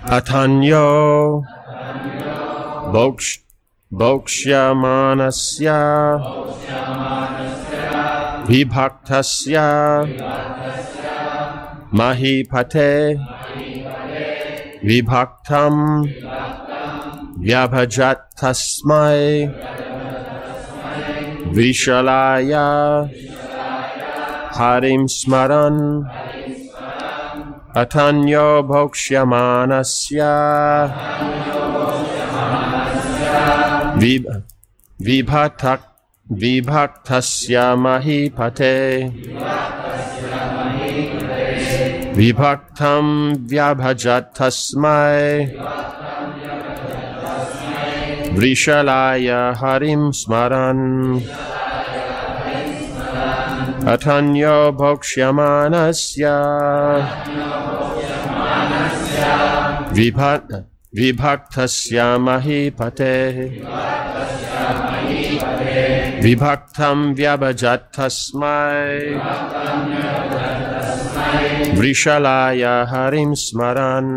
Atanyo Boksyamanasya Vibhaktasya Mahipate Vibhaktam Vyabhajat Tasmai Vishalaya Harim Smaran Atanyo Boksyamanasya Vibhaktasya Mahipate Vibhaktam Vyabhajat Tasmai Vrishalaya Harim Smaran Atanyo Boksyamanasya Vibhaktasya Mahipate Vibhaktam Vyabhajat Tasmai Vrishalaya Harim Smaran.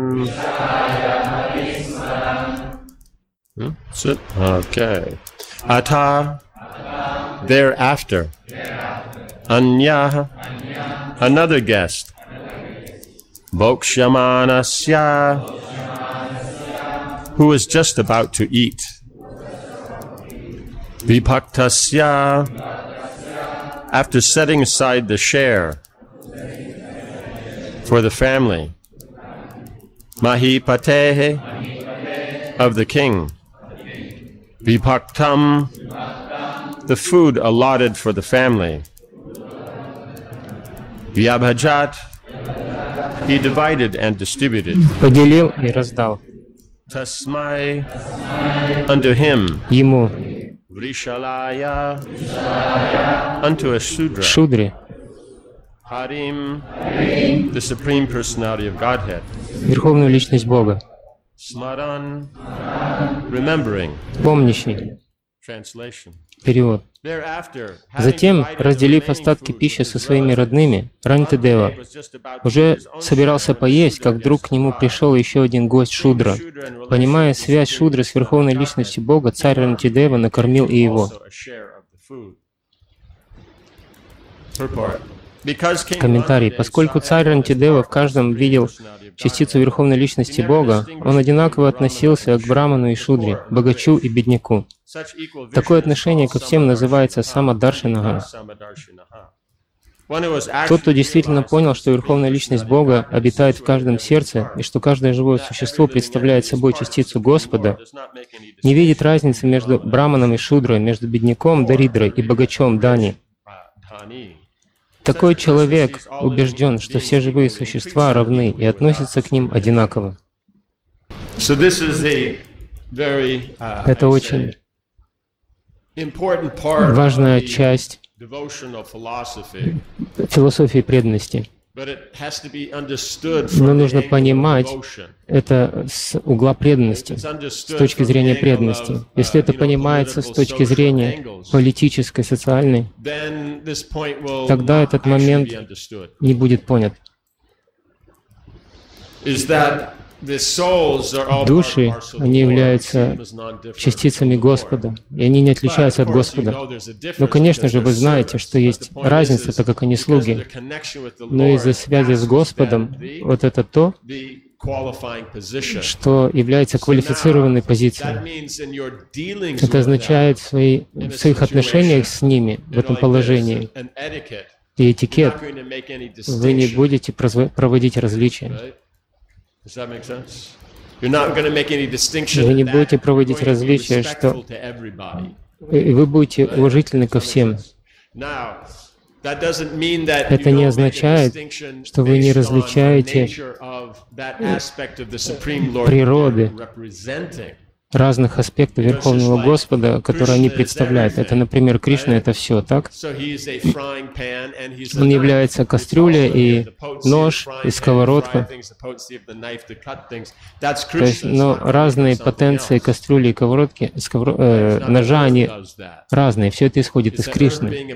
That's it? Okay. Ata, thereafter. Anya, another guest. Boksyamanasya, who was just about to eat. Vibhaktasya, after setting aside the share for the family. Mahipate, of the king. Vibhaktam, the food allotted for the family. Vyabhajat, he divided and distributed. Поделил и раздал. Tasmai, unto him. Ему. Vrishalaya, unto a Shudra. Шудре. Harim, the Supreme Personality of Godhead. Верховную личность Бога. Smaran, remembering. Помнящий. Translation. Перевод. Затем, разделив остатки пищи со своими родными, Рантидева уже собирался поесть, как вдруг к нему пришел еще один гость Шудра. Понимая связь Шудры с Верховной Личностью Бога, царь Рантидева накормил и его. Комментарий. Поскольку царь Рантидева в каждом видел частицу Верховной Личности Бога, он одинаково относился к Браману и Шудре, богачу и бедняку. Такое отношение ко всем называется самадаршинага. Тот, кто действительно понял, что Верховная Личность Бога обитает в каждом сердце, и что каждое живое существо представляет собой частицу Господа, не видит разницы между Браманом и Шудрой, между бедняком Даридрой и богачом Дани. Такой человек убежден, что все живые существа равны и относятся к ним одинаково. Это очень важная часть философии преданности. Но нужно понимать это с угла преданности, с точки зрения преданности. Если это понимается с точки зрения политической, социальной, тогда этот момент не будет понят. Души, они являются частицами Господа, и они не отличаются от Господа. Но, конечно же, вы знаете, что есть разница, так как они слуги. Но из-за связи с Господом, вот это то, что является квалифицированной позицией. Это означает в своих отношениях с ними, в этом положении, и этикет, вы не будете проводить различия. Вы не будете проводить различия, что вы будете уважительны ко всем. Это не означает, что вы не различаете природы разных аспектов Верховного Господа, которые они представляют. Это, например, Кришна — это все, так? Он является кастрюлей и нож, и сковородка. То есть, но разные потенции кастрюли и сковородки, ножа, они разные. Все это исходит из Кришны.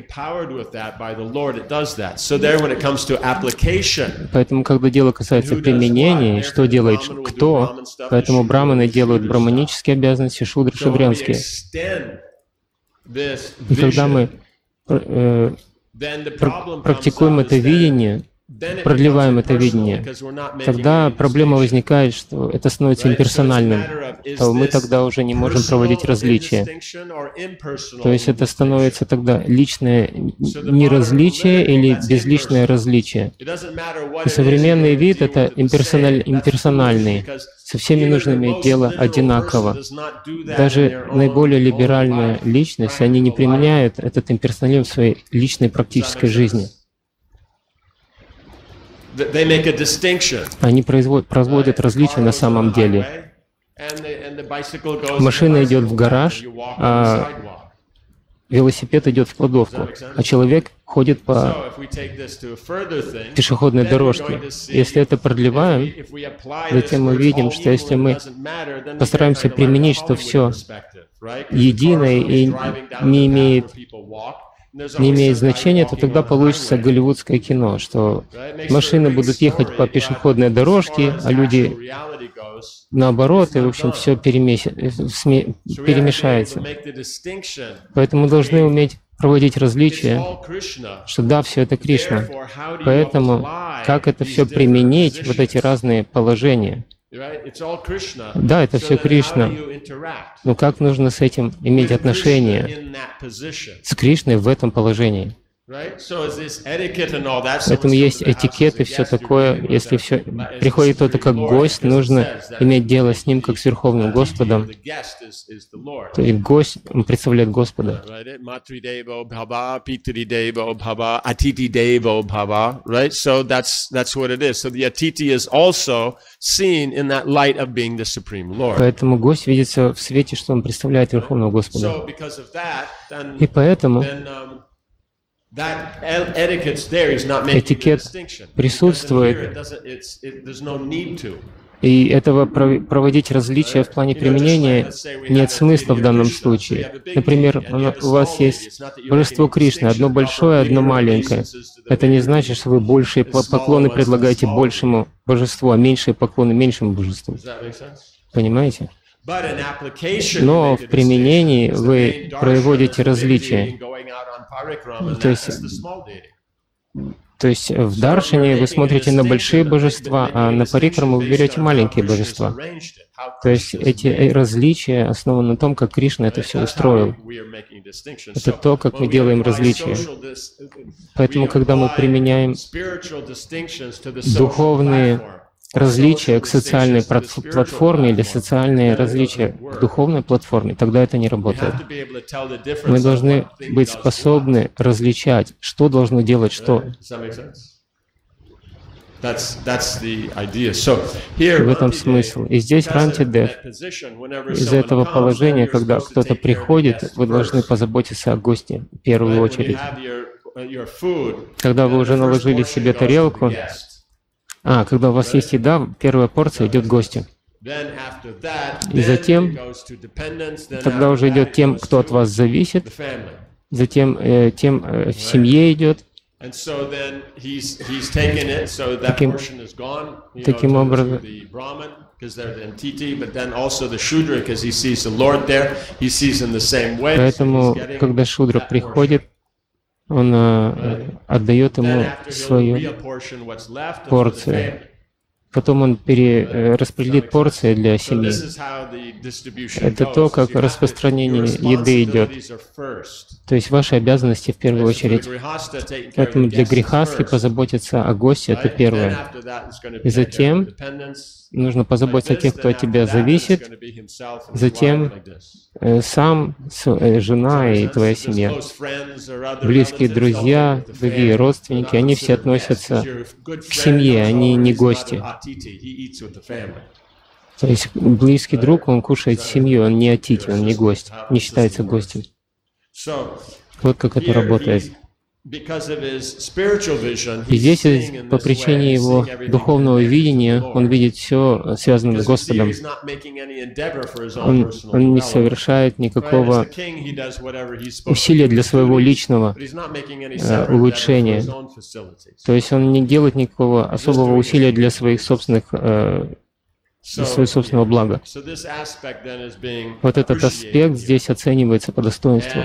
Поэтому, когда дело касается применения, что делает кто, поэтому браманы делают браманические обязанности, шудры — шудрянские. И когда мы практикуем это видение, продлеваем это видение, тогда проблема возникает, что это становится имперсональным, то мы тогда уже не можем проводить различия. То есть это становится тогда личное неразличие или безличное различие. И современный вид — это имперсональный. Со всеми нужно иметь дело одинаково. Даже наиболее либеральная личность, они не применяют этот имперсонализм в своей личной практической жизни. Они производят различия на самом деле. Машина идет в гараж, а велосипед идет в кладовку, а человек ходит по пешеходной дорожке. Если это продлеваем, затем мы видим, что если мы постараемся применить, что все единое и не имеет значения, то тогда получится голливудское кино, что машины будут ехать по пешеходной дорожке, а люди наоборот, и, в общем, все перемешается. Поэтому мы должны уметь проводить различия, что да, все это Кришна. Поэтому как это все применить, вот эти разные положения? Да, это все Кришна. Но как нужно с этим иметь отношение, с Кришной в этом положении? Поэтому есть этикет и все такое. Если приходит кто-то как гость, нужно иметь дело с ним как с Верховным Господом. То есть гость, он представляет Господа. Поэтому гость видится в свете, что он представляет Верховного Господа. И поэтому этикет присутствует, и этого проводить различия в плане применения нет смысла в данном случае. Например, у вас есть божество Кришны, одно большое, одно маленькое. Это не значит, что вы большие поклоны предлагаете большему божеству, а меньшие поклоны меньшему божеству. Понимаете? Но в применении вы проводите различия. То есть в даршине вы смотрите на большие божества, а на парикраму вы берете маленькие божества. То есть эти различия основаны на том, как Кришна это все устроил. Это то, как мы делаем различия. Поэтому, когда мы применяем духовные различия к социальной платформе или социальные различия к духовной платформе, тогда это не работает. Мы должны быть способны различать, что должно делать что. В этом смысл. И здесь Рантидев, из этого положения, когда кто-то приходит, вы должны позаботиться о госте в первую очередь. Когда вы уже наложили себе тарелку, когда у вас есть еда, первая порция идет гостю. И затем, тогда уже идет тем, кто от вас зависит, затем тем в семье идет. Таким образом, поэтому, когда шудра приходит, он отдает ему свою порцию. Потом он распределит порции для семьи. Это то, как распространение еды идет. То есть ваши обязанности в первую очередь. Поэтому для грихастхи позаботиться о госте — это первое. И затем нужно позаботиться о тех, кто от тебя зависит. Затем сам, жена и твоя семья. Близкие друзья, другие родственники, они все относятся к семье, они не гости. То есть близкий друг, он кушает с семьей, он не атити, он не гость, не считается гостем. Вот как это работает. И здесь по причине его духовного видения он видит все связанное с Господом. Он не совершает никакого усилия для своего личного улучшения. То есть он не делает никакого особого усилия для своих собственных для своего собственного блага. Вот этот аспект здесь оценивается по достоинству.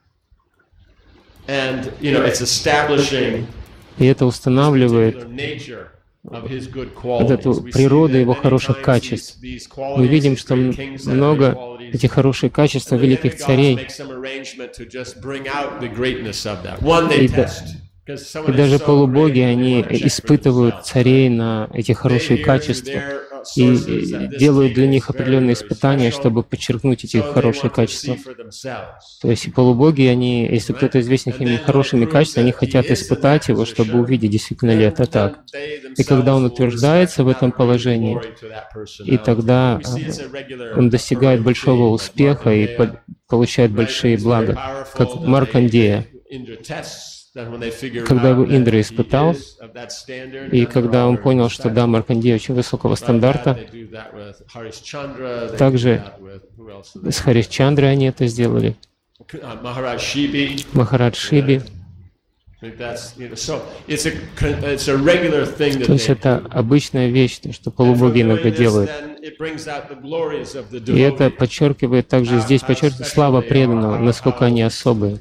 И это устанавливает вот эту природу его хороших качеств. Мы видим, что много этих хороших качеств великих царей. И даже полубоги, они испытывают царей на эти хорошие качества и делают для них определенные испытания, чтобы подчеркнуть эти хорошие качества. То есть и полубоги, они, если кто-то известен ими хорошими качествами, они хотят испытать его, чтобы увидеть, действительно ли это так. И когда он утверждается в этом положении, и тогда он достигает большого успеха и получает большие блага, как Маркандея. Когда его Индра испытал, и когда он понял, что да, Маркандея очень высокого стандарта, также с Харишчандрой они это сделали, Махарадж Шиби. То есть это обычная вещь, то, что полубоги иногда делают. И это подчеркивает также здесь, подчеркивает слава преданного, насколько они особые.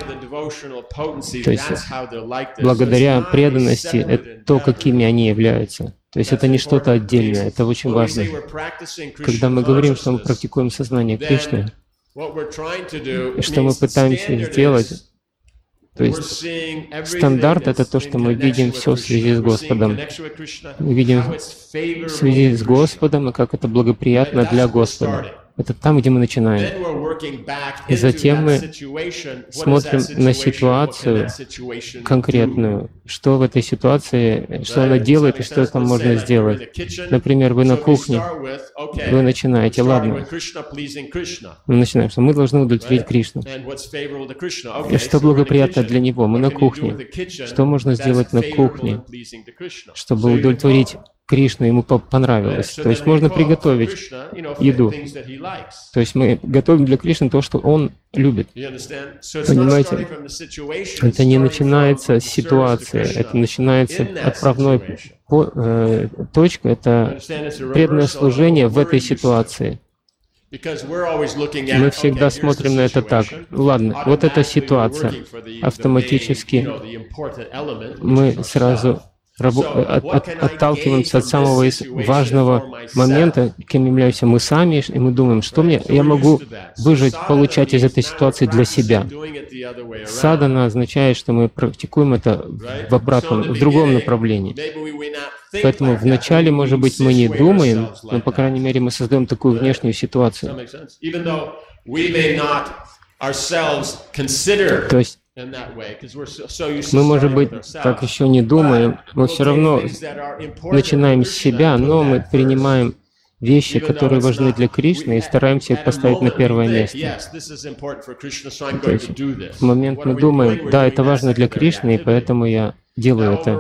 То есть благодаря преданности это то, какими они являются. То есть это не что-то отдельное, это очень важно. Когда мы говорим, что мы практикуем сознание Кришны, и что мы пытаемся сделать, то есть стандарт — это то, что мы видим все в связи с Господом. Мы видим в связи с Господом, и как это благоприятно для Господа. Это там, где мы начинаем. И затем мы смотрим на ситуацию конкретную, что в этой ситуации, что она делает и что там можно сделать. Например, вы на кухне, вы начинаете, ладно, мы начинаем, что мы должны удовлетворить Кришну. И что благоприятно для Него? Мы на кухне. Что можно сделать на кухне, чтобы удовлетворить Кришну, ему понравилось. То есть можно приготовить еду. То есть мы готовим для Кришны то, что Он любит. Понимаете? Это не начинается с ситуации, это начинается отправной точкой, это преданное служение в этой ситуации. Мы всегда смотрим на это так. Ладно, вот эта ситуация. Автоматически мы сразу отталкиваемся от самого важного момента, кем являемся мы сами, и мы думаем, что я могу выжать, получать из этой ситуации для себя. Садхана означает, что мы практикуем это в другом направлении. Поэтому вначале, может быть, мы не думаем, но, по крайней мере, мы создаем такую внешнюю ситуацию. То есть мы, может быть, так еще не думаем, мы все равно начинаем с себя, но мы принимаем вещи, которые важны для Кришны, и стараемся их поставить на первое место. То есть в момент мы думаем, да, это важно для Кришны, и поэтому я делаю это.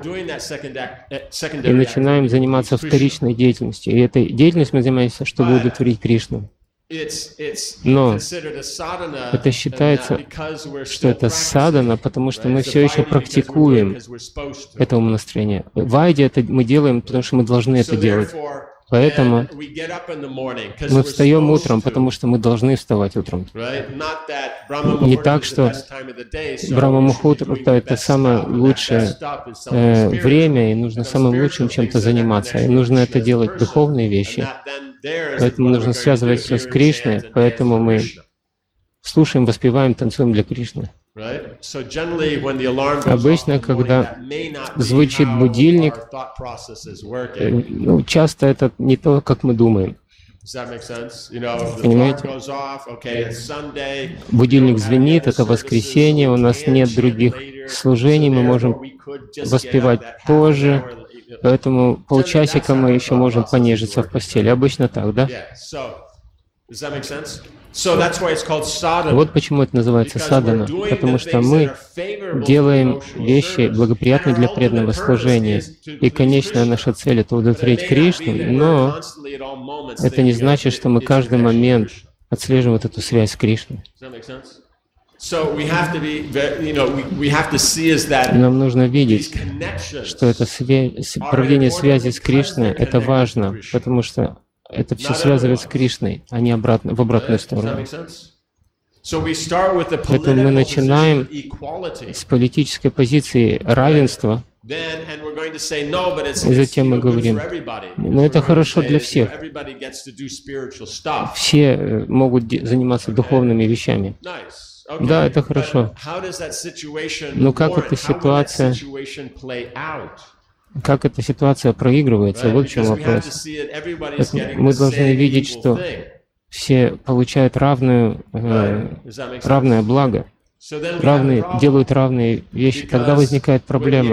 И начинаем заниматься вторичной деятельностью. И этой деятельностью мы занимаемся, чтобы удовлетворить Кришну. Но это считается, что это садхана, потому что мы все еще практикуем это умонастроение. Вайди это мы делаем, потому что мы должны это делать. Поэтому мы встаем утром, потому что мы должны вставать утром. Не так, что Брахма-мухурта — это самое лучшее время, и нужно самым лучшим чем-то заниматься. И нужно это делать духовные вещи. Поэтому нужно связывать все с Кришной, поэтому мы слушаем, воспеваем, танцуем для Кришны. Обычно, когда звучит будильник, часто это не то, как мы думаем. Понимаете? Будильник звенит, это воскресенье, у нас нет других служений, мы можем воспевать позже, Поэтому полчасика мы еще можем понежиться в постели. Обычно так, да? Вот почему это называется садхана. Потому что мы делаем вещи, благоприятные для преданного служения. И конечная наша цель — это удовлетворить Кришну, но это не значит, что мы каждый момент отслеживаем вот эту связь с Кришной. Нам нужно видеть, что это проведение связи с Кришной — это важно, потому что это все связывает с Кришной, а не в обратную сторону. Поэтому мы начинаем с политической позиции равенства, и затем мы говорим, но это хорошо для всех. Все могут заниматься духовными вещами. Да, это хорошо. Но как эта ситуация проигрывается? Вот в чем вопрос. Мы должны видеть, что все получают равное благо, делают равные вещи. Тогда возникает проблема.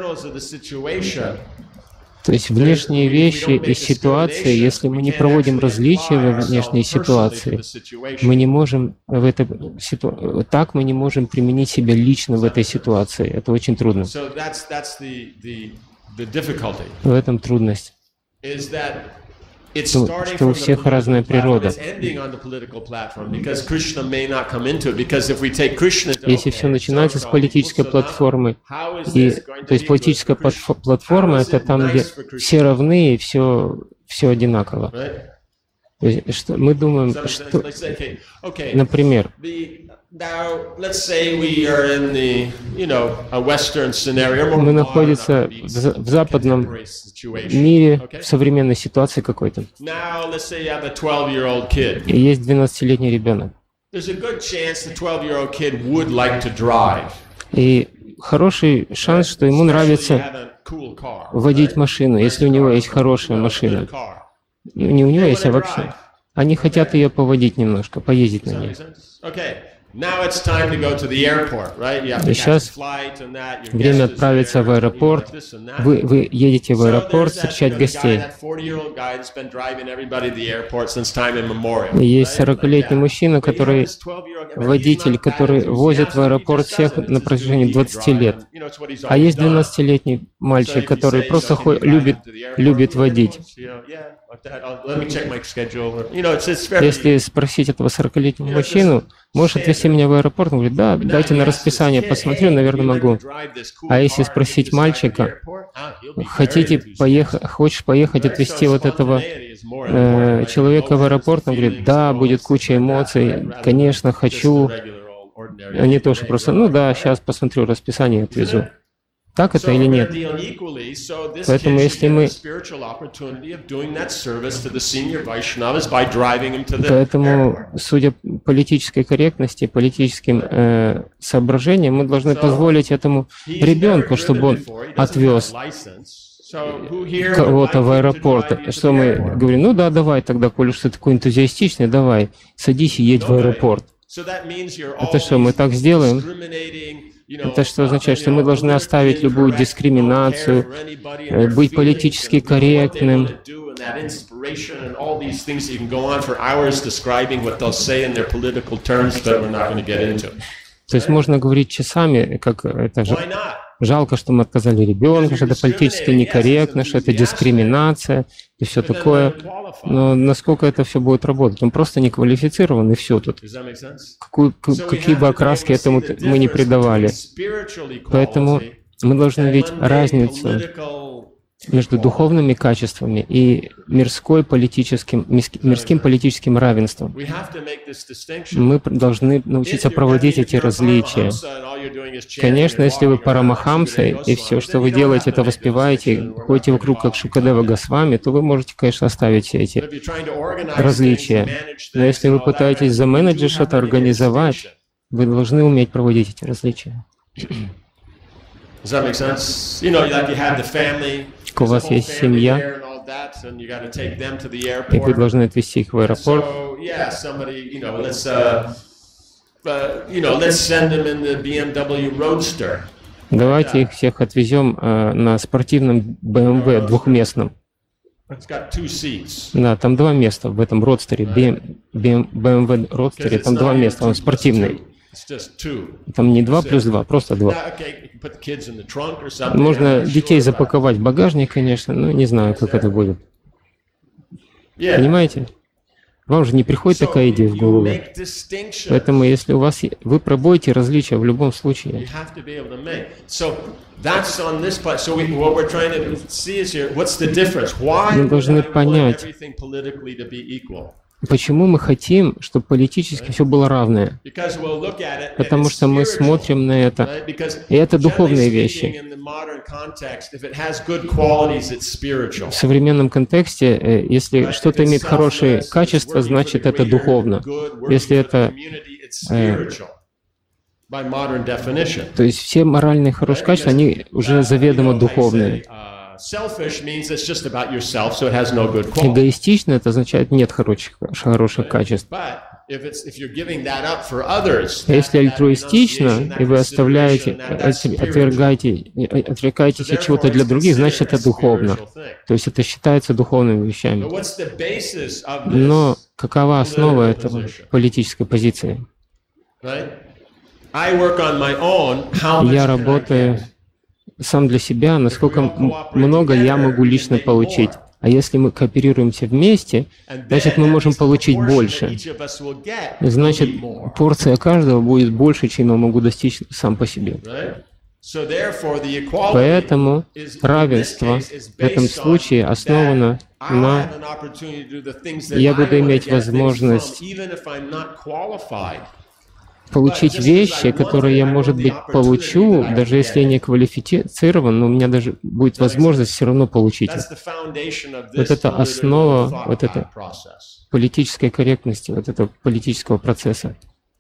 То есть внешние вещи и ситуации, если мы не проводим различия во внешней ситуации, мы не можем так мы не можем применить себя лично в этой ситуации. Это очень трудно. В этом трудность. Что у всех разная природа. Если все начинается с политической платформы, то есть политическая платформа — это там, где все равны и все одинаково. То есть, мы думаем, что, например, мы находимся в западном мире, в современной ситуации какой-то. И есть 12-летний ребенок. И хороший шанс, что ему нравится водить машину, если у него есть хорошая машина. Не у него есть, а вообще. Они хотят ее поводить немножко, поездить на ней. И сейчас время отправиться в аэропорт. Вы едете в аэропорт встречать гостей. И есть 40-летний мужчина, водитель, который возит в аэропорт всех на протяжении 20 лет. А есть 12-летний мальчик, который просто любит водить. Если спросить этого 40-летнего мужчину, можешь отвезти меня в аэропорт? Он говорит, да, дайте на расписание, посмотрю, наверное, могу. А если спросить мальчика, хочешь поехать отвезти вот этого человека в аэропорт? Он говорит, да, будет куча эмоций, конечно, хочу. А не то, что просто, ну да, сейчас посмотрю расписание и отвезу. Так это или нет? Поэтому если мы... Поэтому, судя по политической корректности, политическим соображениям, мы должны позволить этому ребенку, чтобы он отвез кого-то в аэропорт. Что мы говорим, ну да, давай тогда, коль уж ты такой энтузиастичный, давай, садись и едь в аэропорт. Это что, мы так сделаем? Это что означает, что мы должны оставить любую дискриминацию, быть политически корректным. То есть можно говорить часами, как это же жалко, что мы отказали ребенку, что это политически некорректно, что это дискриминация и все такое. Но насколько это все будет работать? Он просто не квалифицирован, и все тут. Какие бы окраски этому мы не придавали. Поэтому мы должны видеть разницу между духовными качествами и мирским политическим равенством. Мы должны научиться проводить эти различия. Конечно, если вы парамахамса, и все, что вы делаете, это воспеваете, ходите вокруг как Шукадева Госвами, то вы можете, конечно, оставить все эти различия. Но если вы пытаетесь заменеджить что-то, организовать, вы должны уметь проводить эти различия. У вас есть семья, и вы должны отвезти их в аэропорт. Давайте их всех отвезем на спортивном BMW двухместном. Да, там 2 места в этом родстере, BMW родстере, там 2 места, он спортивный. Там не 2 плюс 2, просто 2. Можно детей запаковать в багажник, конечно, но не знаю, как это будет. Понимаете? Вам же не приходит такая идея в голову. Поэтому, если у вас... Вы пробуете различия в любом случае. Мы должны понять, почему мы хотим, чтобы политически все было равное. Потому что мы смотрим на это, и это духовные вещи. В современном контексте, если что-то имеет хорошее качество, значит это духовно. Если это... то есть все моральные хорошие качества, они уже заведомо духовные. Эгоистично — это означает нет хороших качеств. Если альтруистично, и вы отрекаетесь от чего-то для других, значит это духовно. То есть это считается духовными вещами. Но какова основа этого политической позиции? Я работаю сам для себя, насколько много я могу лично получить. А если мы кооперируемся вместе, значит, мы можем получить больше. Значит, порция каждого будет больше, чем я могу достичь сам по себе. Поэтому равенство в этом случае основано на «я буду иметь возможность получить вещи, которые я, может быть, получу, даже если я не квалифицирован, но у меня даже будет возможность все равно получить их». Вот это основа вот этой политической корректности, вот этого политического процесса.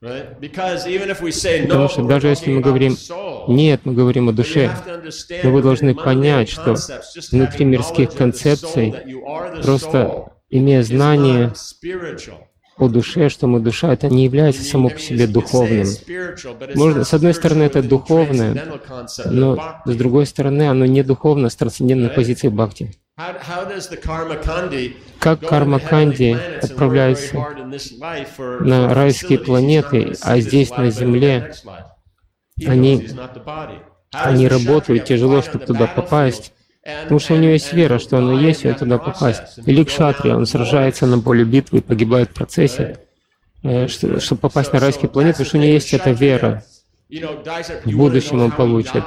Потому что даже если мы говорим «нет», мы говорим о душе, но вы должны понять, что внутри мирских концепций, просто имея знание о душе, что мы душа, это не является само по себе духовным. Можно, с одной стороны, это духовное, но с другой стороны, оно не духовно с трансцендентной позиции бхакти. Как карма-канди отправляется на райские планеты, а здесь, на Земле, они работают тяжело, чтобы туда попасть, потому что у него есть вера, что оно есть, и туда попасть. Или кшатрия, он сражается на поле битвы и погибает в процессе, чтобы попасть на райские планеты, потому что у него есть эта вера. В будущем он получит.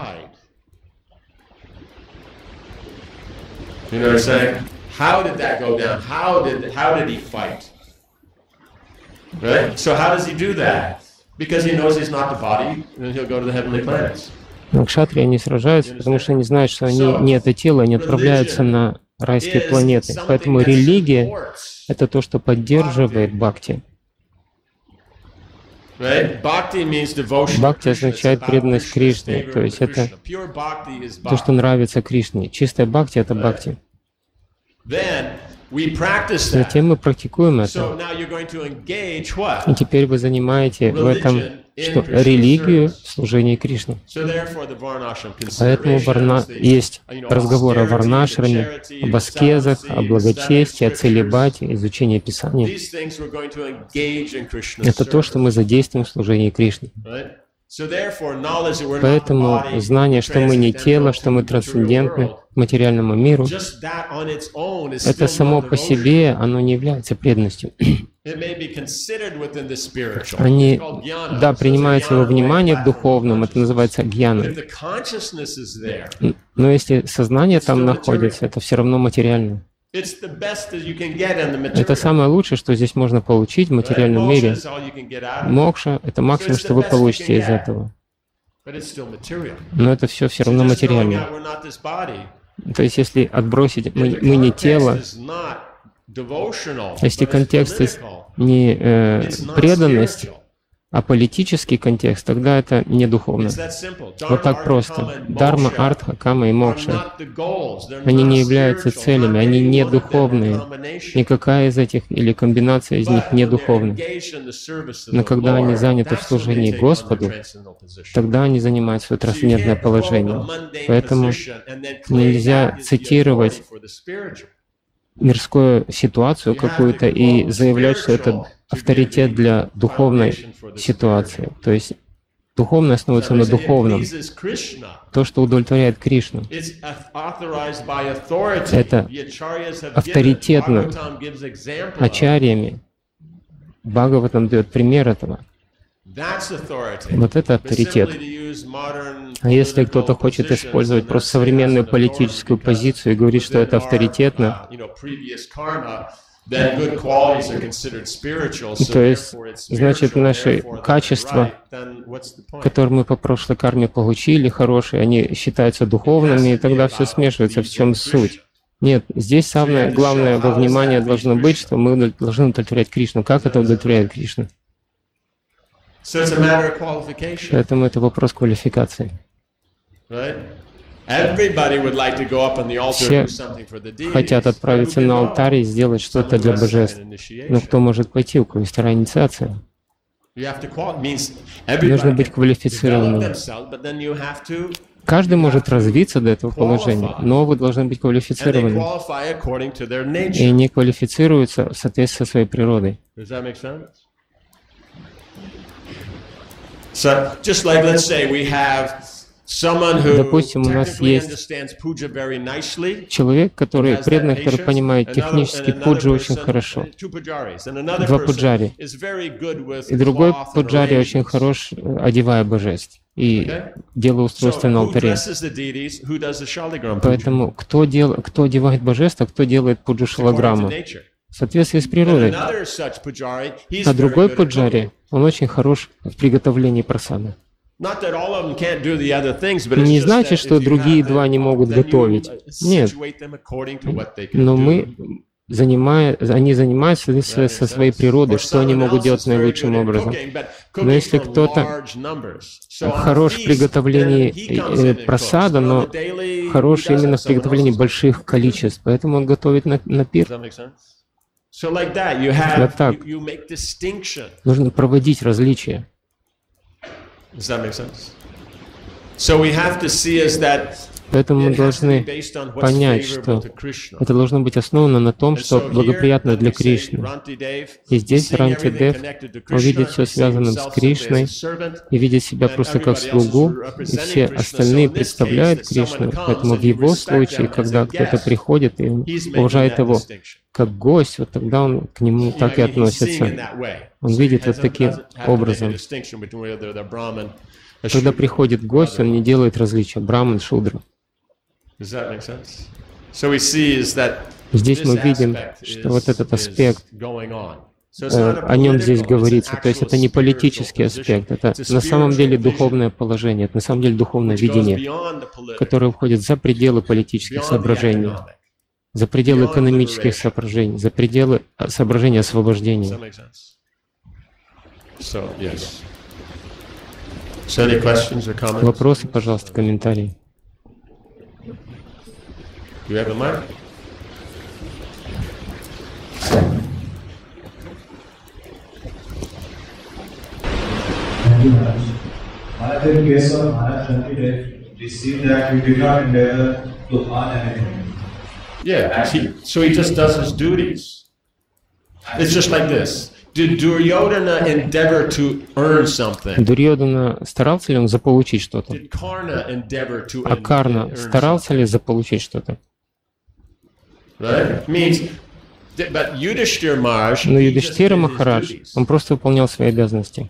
How did that go down? How did he fight? Right? So how does he do that? Because he knows he's not the body, and he'll go to the heavenly planets. Но кшатрии они сражаются, потому что они знают, что они не это тело, они отправляются на райские планеты. Поэтому религия — это то, что поддерживает бхакти. Бхакти означает преданность Кришне, то есть это то, что нравится Кришне. Чистая бхакти — это бхакти. Затем мы практикуем это. И теперь вы занимаете в этом что? Религию в служении Кришне. Поэтому есть разговор о варнашраме, об аскезах, о благочестии, о целибате, изучении Писания. Это то, что мы задействуем в служении Кришне. Поэтому знание, что мы не тело, что мы трансцендентны к материальному миру, это само по себе, оно не является преданностью. Они, да, принимаются во внимание в духовном, это называется гьяна. Но если сознание там находится, это все равно материально. Это самое лучшее, что здесь можно получить в материальном мире. Мокша — это максимум, что вы получите из этого. Но это все равно материально. То есть, если отбросить «мы не тело», если контекст не преданность, А политический контекст, тогда это не духовно. Вот так просто. Дарма, артха, кама и мокша. Они не являются целями, они не духовные. Никакая из этих или комбинация из них не духовна. Но когда они заняты в служении Господу, тогда они занимают свое трансцендентное положение. Поэтому нельзя цитировать мирскую ситуацию какую-то и заявлять, что это авторитет для духовной ситуации. То есть духовное основывается на духовном. То, что удовлетворяет Кришну. Это авторитетно ачарьями. Бхагаватам дает пример этого. Вот это авторитет. А если кто-то хочет использовать просто современную политическую позицию и говорит, что это авторитетно, то есть, значит, наши качества, которые мы по прошлой карме получили, хорошие, они считаются духовными, и тогда все смешивается. В чем суть? Нет, здесь самое главное во внимание должно быть, что мы должны удовлетворять Кришну. Как это удовлетворяет Кришну? Поэтому это вопрос квалификации. Все хотят отправиться на алтарь и сделать что-то для божеств. Но кто может пойти, у кого есть вторая инициация? Нужно быть квалифицированным. Каждый может развиться до этого положения, но вы должны быть квалифицированы. И они квалифицируются в соответствии со своей природой. Допустим, у нас есть человек, который преданный, который понимает технически пуджи очень хорошо. Два пуджари. И другой пуджари очень хорош, одевая божеств и делая устройство на алтаре. Поэтому кто одевает божество, а кто делает пуджу шалаграмму? В соответствии с природой. А другой пуджари, он очень хорош в приготовлении прасады. Не значит, что другие два не могут готовить. Нет. Но они занимаются со своей природой, что они могут делать наилучшим образом. Но если кто-то хорош в приготовлении прасада, но хорош именно в приготовлении больших количеств, поэтому он готовит на пир. Вот так. Нужно проводить различия. Поэтому мы должны понять, что это должно быть основано на том, что благоприятно для Кришны. И здесь Рантидев, он видит все связанным с Кришной и видит себя просто как слугу, и все остальные представляют Кришну. Поэтому в его случае, когда кто-то приходит и уважает его как гость, вот тогда он к нему так и относится. Он видит вот таким образом. Когда приходит гость, он не делает различия браман, шудра. Здесь мы видим, что вот этот аспект, о нем здесь говорится. То есть это не политический аспект, это на самом деле духовное положение, это на самом деле духовное видение, которое уходит за пределы политических соображений, за пределы экономических соображений, за пределы соображений освобождения. Вопросы, пожалуйста, комментарии. So he just does his duties. It's just like this. Did Duryodhana endeavor to earn something? Дурьодана старался ли он заполучить что-то? Did Karna endeavor to А Карна старался ли заполучить что-то? Right? Means, but Yudhishthira Maharaj, Но Юдхиштхира Махарадж, он просто выполнял свои обязанности.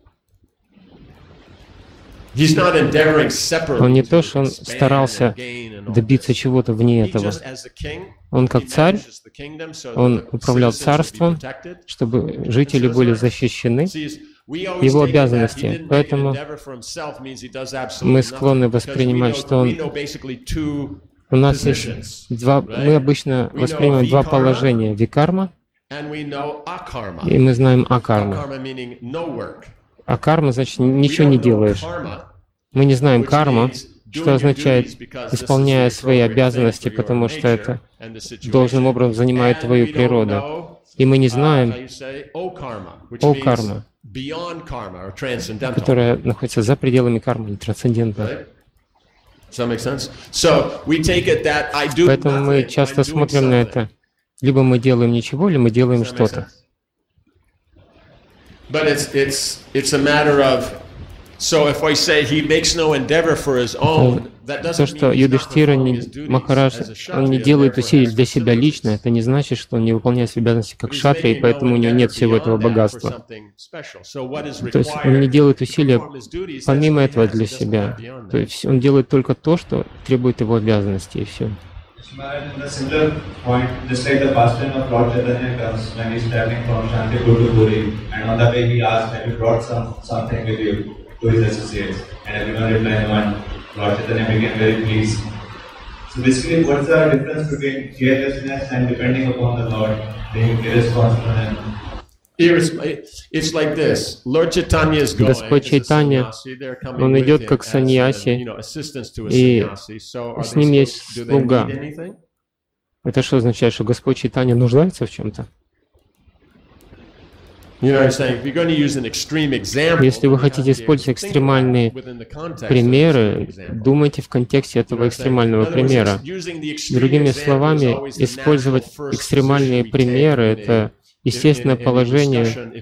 Он не то, что он старался добиться чего-то вне этого. Он как царь, он управлял царством, чтобы жители были защищены, его обязанности. Поэтому мы склонны воспринимать, что у нас есть мы обычно воспринимаем два положения: викарма, и мы знаем акарма. А карма, значит, ничего не делаешь. Мы не знаем карму, что означает, исполняя свои обязанности, потому что это должным образом занимает твою природу. И мы не знаем о карма, которая находится за пределами кармы, трансцендентна. Поэтому мы часто смотрим на это. Либо мы делаем ничего, либо мы делаем что-то. То, что Юдхиштира Махарадж, он не делает усилий для себя лично, это не значит, что он не выполняет свои обязанности как кшатрия, и поэтому у него нет всего этого богатства. То есть он не делает усилия помимо этого для себя. То есть он делает только то, что требует его обязанностей, и все. In a similar point, just like the pastime of Lord Chaitanya comes when he's traveling from Shantipur to Puri, and on the way he asks, "Have you brought something with you?" to his associates, and everyone replied, "No." And Lord Chaitanya became very pleased. So basically, what's the difference between carelessness and depending upon the Lord, being irresponsible and Господь Чайтанья, он идет как саньяси, и с ним есть слуга. Это что означает, что Господь Чайтанья нуждается в чем-то? Если вы хотите использовать экстремальные примеры, думайте в контексте этого экстремального примера. Другими словами, использовать экстремальные примеры — это естественное положение,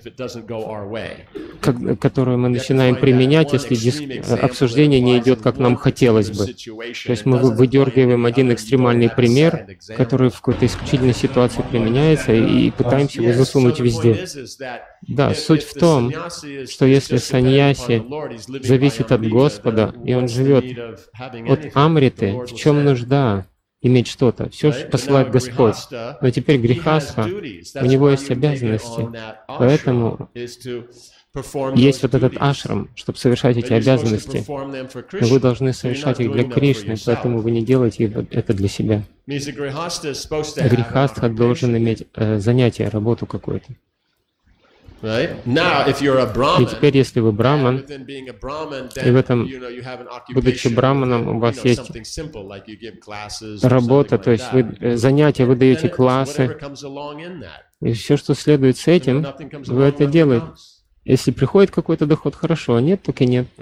которое мы начинаем применять, если обсуждение не идет, как нам хотелось бы. То есть мы выдергиваем один экстремальный пример, который в какой-то исключительной ситуации применяется, и пытаемся его засунуть везде. Да, суть в том, что если саньяси зависит от Господа, и он живет от амриты, в чем нужда иметь что-то? Все посылает Господь. Но теперь грихастха, у него есть обязанности. Поэтому есть вот этот ашрам, чтобы совершать эти обязанности. Но вы должны совершать их для Кришны, поэтому вы не делаете это для себя. Грихастха должен иметь занятие, работу какую-то. И теперь, если вы браман, и в этом, будучи браманом, у вас есть работа, то есть вы занятия, вы даете классы, и все, что следует с этим, вы это делаете. Если приходит какой-то доход, хорошо, а нет, так и нет.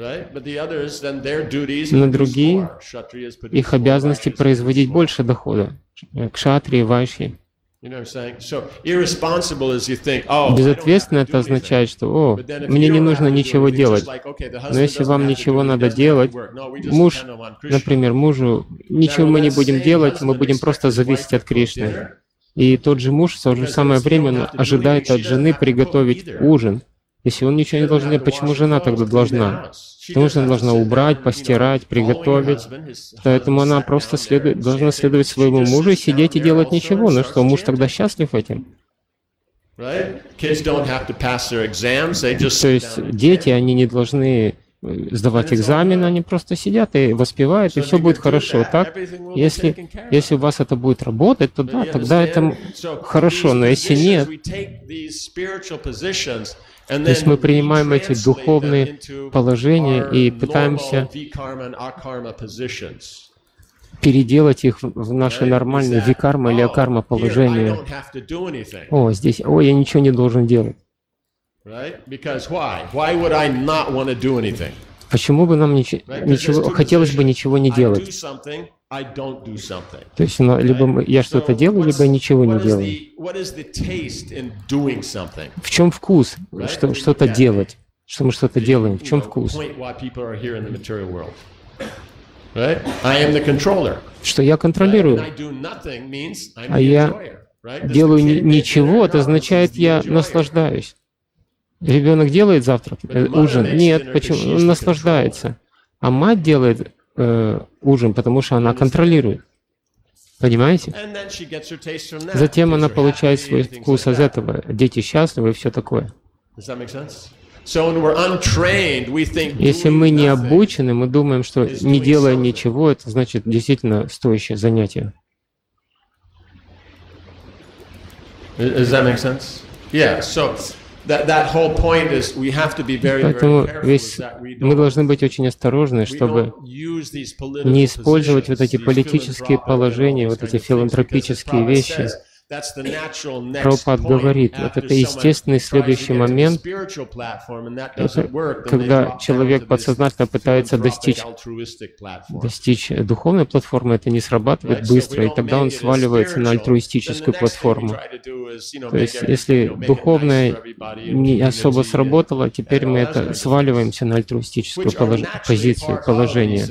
Но другие, их обязанности производить больше дохода. Кшатрии, вайши. Безответственно это означает, что мне не нужно ничего делать. Но если вам ничего надо делать, муж, например, мужу, ничего мы не будем делать, мы будем просто зависеть от Кришны. И тот же муж в то же самое время ожидает от жены приготовить ужин. Если он ничего не должен делать, почему жена тогда должна? Потому что она должна убрать, постирать, приготовить. Поэтому она просто должна следовать своему мужу и сидеть и делать ничего. Ну что, муж тогда счастлив этим? То есть дети, они не должны сдавать экзамены, они просто сидят и воспевают, и все будет хорошо. Так? Если у вас это будет работать, то да, тогда это хорошо. Но если нет, то есть мы принимаем эти духовные положения и пытаемся переделать их в наши нормальные викарма или акарма положения. Здесь, я ничего не должен делать. Почему бы нам ничего, хотелось бы ничего не делать? То есть либо я что-то делаю, либо я ничего не делаю. В чем вкус что-то делать? Что мы что-то делаем? В чем вкус? Что я контролирую. А я делаю ничего, это означает, я наслаждаюсь. Ребенок делает завтрак, ужин? Нет, почему? Он наслаждается. А мать делает ужин, потому что она контролирует. Понимаете? Затем она получает свой вкус из этого. Дети счастливы и все такое. Если мы не обучены, мы думаем, что не делая ничего, это значит действительно стоящее занятие. Поэтому мы должны быть очень осторожны, чтобы не использовать вот эти политические положения, вот эти филантропические вещи. Прабхупад говорит, вот это естественный следующий момент, это когда человек подсознательно пытается достичь духовной платформы, это не срабатывает быстро, и тогда он сваливается на альтруистическую платформу. То есть, если духовная не особо сработала, теперь мы это сваливаемся на альтруистическую позицию, положение.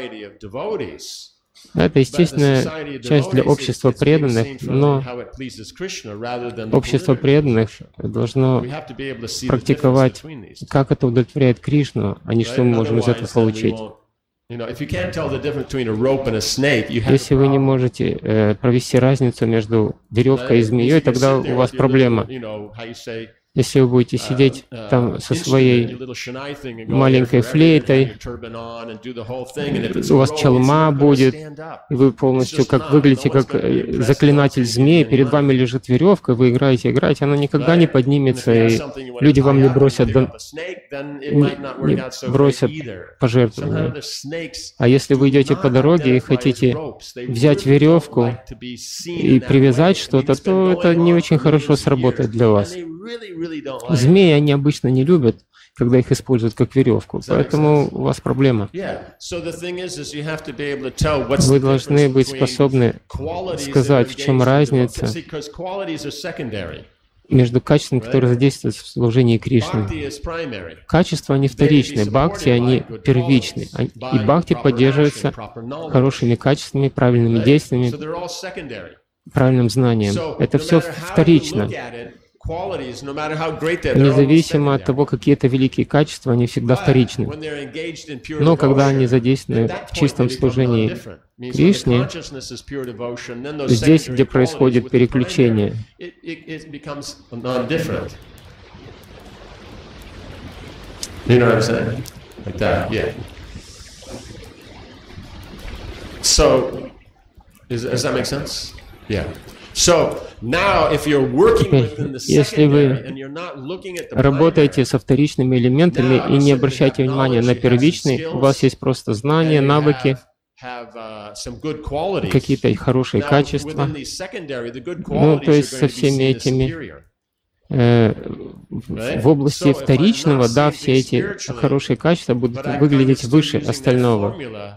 Это естественная часть для общества преданных, но общество преданных должно практиковать, как это удовлетворяет Кришну, а не что мы можем из этого получить. Если вы не можете провести разницу между веревкой и змеей, тогда у вас проблема. Если вы будете сидеть там со своей маленькой флейтой, у вас чалма будет, и вы полностью выглядите как заклинатель змеи, перед вами лежит веревка, вы играете, она никогда не поднимется, и люди вам не бросят пожертвования. А если вы идете по дороге и хотите взять веревку и привязать что-то, то это не очень хорошо сработает для вас. Змеи они обычно не любят, когда их используют как веревку, поэтому у вас проблема. Вы должны быть способны сказать, в чем разница между качествами, которые задействуют в служении Кришне. Качества, они вторичные, бхакти, они первичные. И бхакти поддерживается хорошими качествами, правильными действиями, правильным знанием. Это все вторично. Независимо от того, какие это великие качества, они всегда вторичны. Но когда они задействованы в чистом служении Кришне, здесь, где происходит переключение, Если вы работаете со вторичными элементами и не обращаете внимания на первичные, у вас есть просто знания, навыки, какие-то хорошие качества. Ну, то есть со всеми этими в области вторичного, да, все эти хорошие качества будут выглядеть выше остального.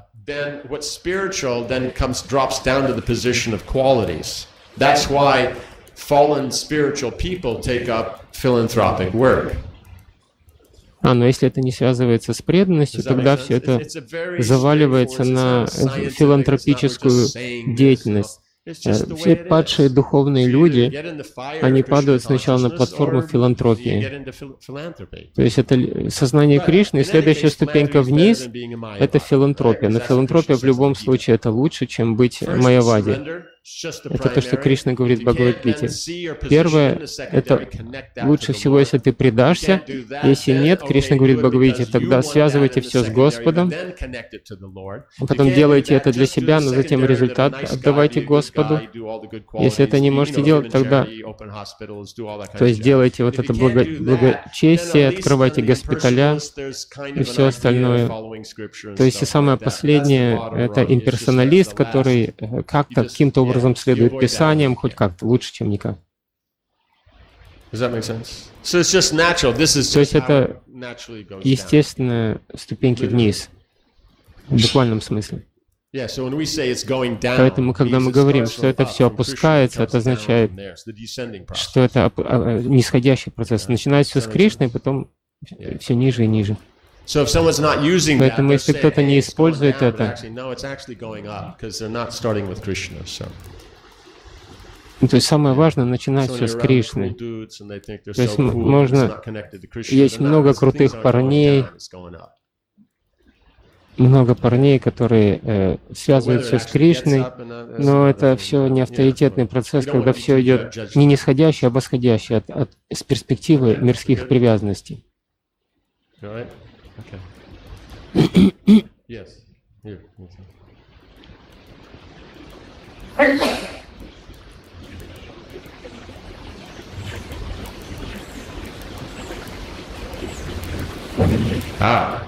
That's why fallen spiritual people take up philanthropic work. Но если это не связывается с преданностью, тогда все это заваливается на филантропическую деятельность. Все падшие духовные люди, они падают сначала на платформу филантропии. То есть это сознание Кришны, и следующая ступенька вниз — это филантропия. Но филантропия в любом случае это лучше, чем быть майявади. Это то, что Кришна говорит в Бхагавад-гите. Первое — это лучше всего, если ты предашься. Если нет, Кришна говорит в Бхагавад-гите, тогда связывайте все с Господом, а потом делайте это для себя, но затем результат отдавайте Господу. Если это не можете делать, тогда, то есть делайте вот это благочестие, открывайте госпиталя и все остальное. То есть и самое последнее — это имперсоналист, который как-то, каким-то образом следует Писаниям, хоть как-то, лучше, чем никак. То есть это естественные ступеньки вниз, в буквальном смысле. Поэтому, когда мы говорим, что это все опускается, это означает, что это нисходящий процесс. Начинается все с Кришны, потом все ниже и ниже. Поэтому, если кто-то не использует это, то есть самое важное — начинать все с Кришны. То есть можно... Есть много крутых парней, которые связывают все с Кришной, но это все не авторитетный процесс, когда все идет не нисходящий, а восходящий с перспективы мирских привязанностей. Ah.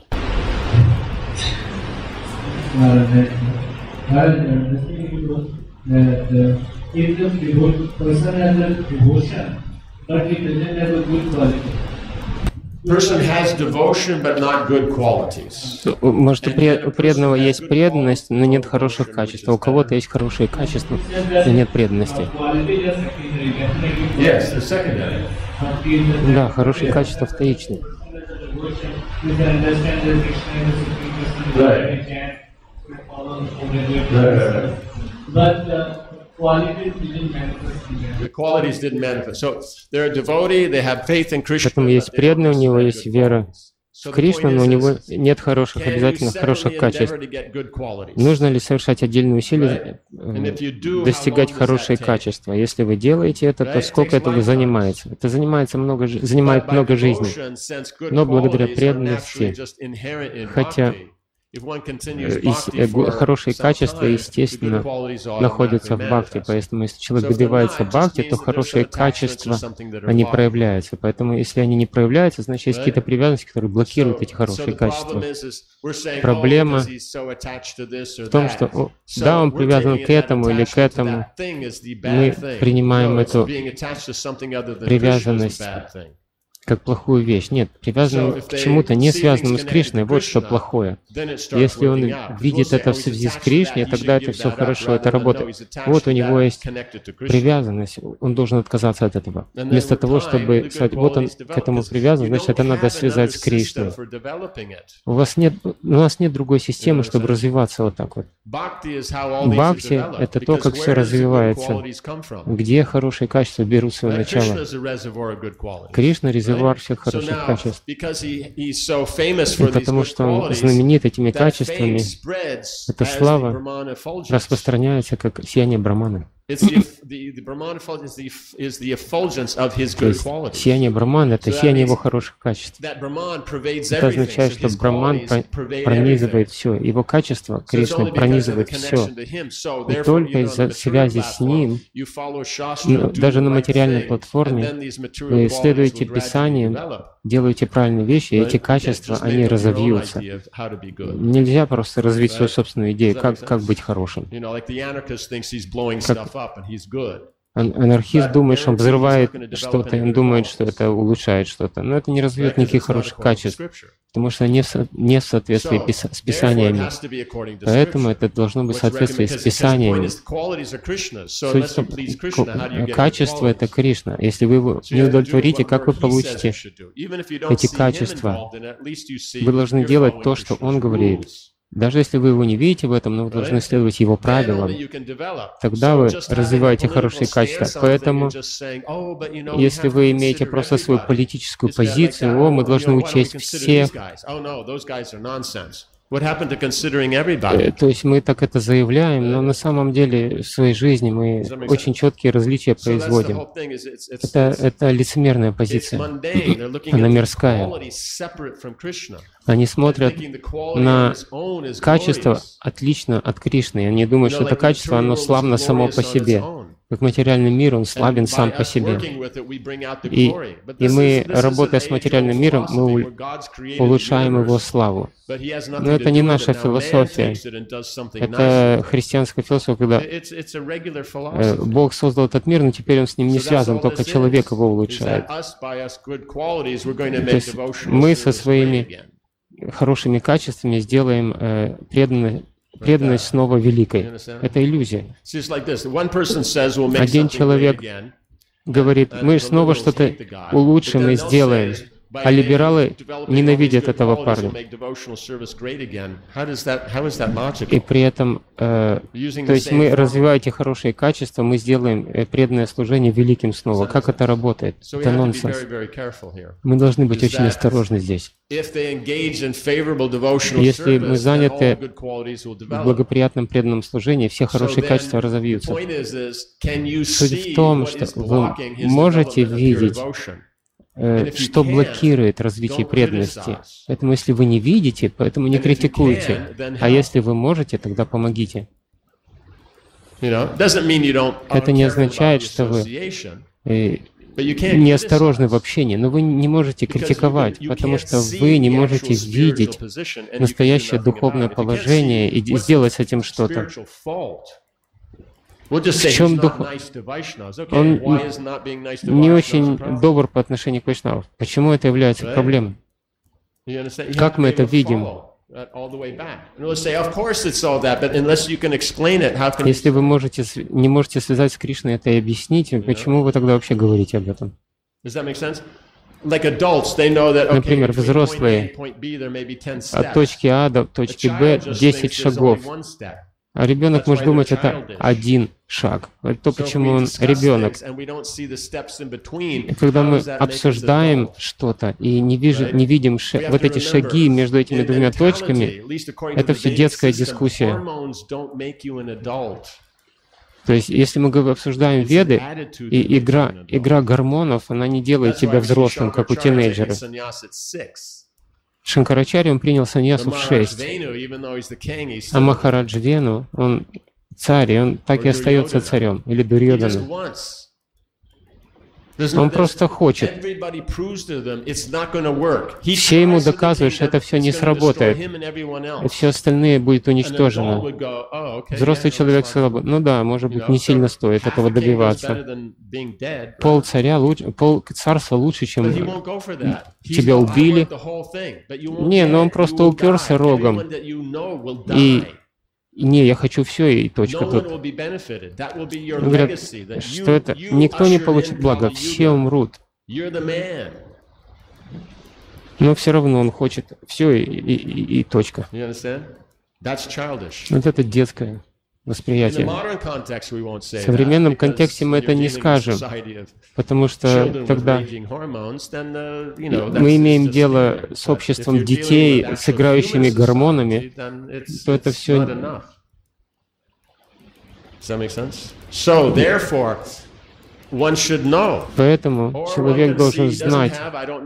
If the person has a devotion, but he doesn't have a good quality. Person has devotion, but not good qualities. Может, у преданного есть преданность, но нет хороших качеств. А у кого-то есть хорошие качества, но нет преданности. Yes, they're secondary. Да, хорошие качества вторичны. The qualities didn't manifest. So they're a devotee, they have faith in Krishna. Поэтому есть преданный, у него есть вера в Кришну, но у него нет хороших, обязательно хороших качеств. Нужно ли совершать отдельные усилия, достигать хорошие качества? Если вы делаете это, то сколько этого занимается? Это занимает много жизней. Но благодаря преданности, хотя хорошие качества, естественно, находятся в бхакти. Поэтому, если человек добивается бхакти, то хорошие качества, они проявляются. Поэтому, если они не проявляются, значит, есть какие-то привязанности, которые блокируют эти хорошие качества. Проблема в том, что, да, он привязан к этому или к этому. Мы принимаем эту привязанность как плохую вещь. Нет, привязанным к чему-то, не связанному с Кришной, вот что плохое. Если он видит это в связи с Кришной, тогда это все хорошо, это работает. Вот у него есть привязанность, он должен отказаться от этого. Вместо того, чтобы сказать, вот он к этому привязан, значит, это надо связать с Кришной. У нас нет другой системы, чтобы развиваться вот так вот. Бхакти — это то, как все развивается, где хорошие качества берут свое начало. Кришна — резервуар всех хороших качеств. И потому что он знаменит этими качествами, эта слава распространяется как сияние Браманы. То есть сияние Брамана — это сияние его хороших качеств. Это означает, что Браман пронизывает все. Его качество, Кришна, пронизывает все. И только из-за связи с ним, даже на материальной платформе, вы исследуете Писание, делаете правильные вещи, и эти качества, они разовьются. Нельзя просто развить свою собственную идею, как быть хорошим. Анархист думает, что он взрывает что-то, и он думает, что это улучшает что-то. Но это не развивает никаких хороших качеств, потому что не в соответствии с Писаниями. Поэтому это должно быть в соответствии с Писаниями. Качество — это Кришна. Если вы его не удовлетворите, как вы получите эти качества? Вы должны делать то, что он говорит. Даже если вы его не видите в этом, но вы должны следовать его правилам, тогда вы развиваете хорошие качества. Поэтому, если вы имеете просто свою политическую позицию, мы должны учесть всех. То есть мы так это заявляем, но на самом деле в своей жизни мы очень четкие различия производим. Это лицемерная позиция, она мирская. Они смотрят на качество отлично от Кришны. Они думают, что это качество, оно славно само по себе. Как материальный мир, он славен сам по себе. И мы, работая с материальным миром, мы улучшаем его славу. Но это не наша философия. Это христианская философия, когда Бог создал этот мир, но теперь он с ним не связан, только человек его улучшает. То есть мы со своими хорошими качествами сделаем преданность снова великой. Это иллюзия. Один человек говорит, мы снова что-то улучшим и сделаем, а либералы ненавидят этого парня. И при этом, то есть мы, развивая эти хорошие качества, мы сделаем преданное служение великим снова. Как это работает? Это нонсенс. Мы должны быть очень осторожны здесь. Если мы заняты в благоприятном преданном служении, все хорошие качества разовьются. Суть в том, что вы можете видеть, что блокирует развитие преданности. Поэтому если вы не видите, поэтому не критикуйте. А если вы можете, тогда помогите. Это не означает, что вы неосторожны в общении, но вы не можете критиковать, потому что вы не можете видеть настоящее духовное положение и сделать с этим что-то. В чем дух? Он не очень добр по отношению к вайшнавам. Почему это является проблемой? Как мы это видим? Если вы не можете связать с Кришной это и объяснить, почему вы тогда вообще говорите об этом? Например, взрослые от точки А до точки Б 10 шагов. А ребенок может думать, это один шаг. Это то, почему он ребенок. И когда мы обсуждаем что-то и не видим вот эти шаги между этими двумя точками, это все детская дискуссия. То есть, если мы обсуждаем Веды, и игра гормонов, она не делает тебя взрослым, как у тинейджеров. Шанкарачарья, он принял саньясу в 6. А Махарадж Вену, он царь, и он так и остается царем, или Дурьёдана. Он просто хочет. Все ему доказывают, что это все не сработает, и все остальное будет уничтожено. Взрослый человек сказал бы, ну да, может быть, не сильно стоит этого добиваться. Пол царства лучше, чем тебя убили. Не, но он просто уперся рогом. И не, я хочу все, и точка тут. Говорят, что это никто не получит блага, все умрут. Но все равно он хочет все, и точка. Вот это детское восприятие. В современном контексте мы это не скажем, потому что тогда мы имеем дело с обществом детей, с играющими гормонами, то это все... Поэтому человек должен знать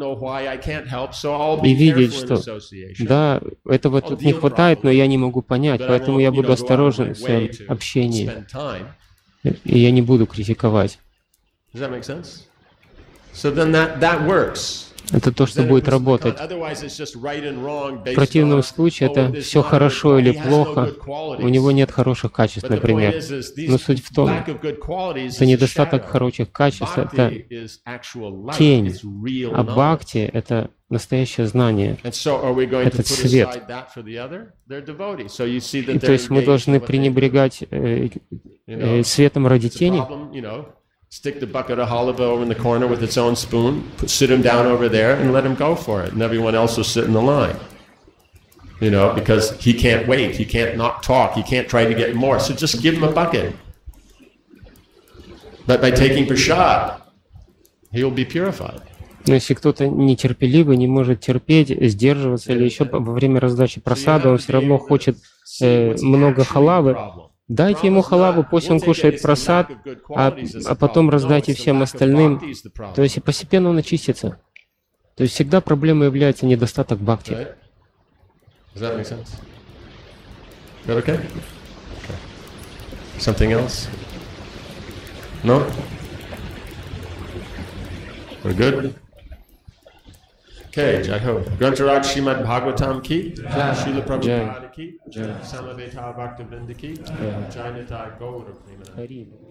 и видеть, что да, этого тут не хватает, но я не могу понять, поэтому я буду осторожен в своем общении, и я не буду критиковать. Это то, что будет работать. В противном случае это все хорошо или плохо, у него нет хороших качеств, например. Но суть в том, что недостаток хороших качеств — это тень, а бхакти — это настоящее знание, этот свет. И то есть мы должны пренебрегать светом ради тени. Stick the bucket of olive oil in the corner with its own spoon, sit him down over there, and let him go for it. And everyone else will sit in the line. You know, because he can't wait, he can't not talk, he can't try to get more. So just give him a bucket. But by taking prasad, he will be purified. Но если кто-то нетерпеливый, не может терпеть, сдерживаться, или еще во время раздачи прасада, он все равно хочет много халавы, дайте ему халаву, пусть он кушает прасад, а потом раздайте всем остальным. То есть и постепенно он очистится. То есть всегда проблемой является недостаток бхакти. Something else? No? We're good? Okay, Jai Ho. Grantharaj Srimad Bhagavatam ki, Srila Prabhupada ki, Samaveta Bhaktivinoda ki, Jai Nitai Gaura Premana.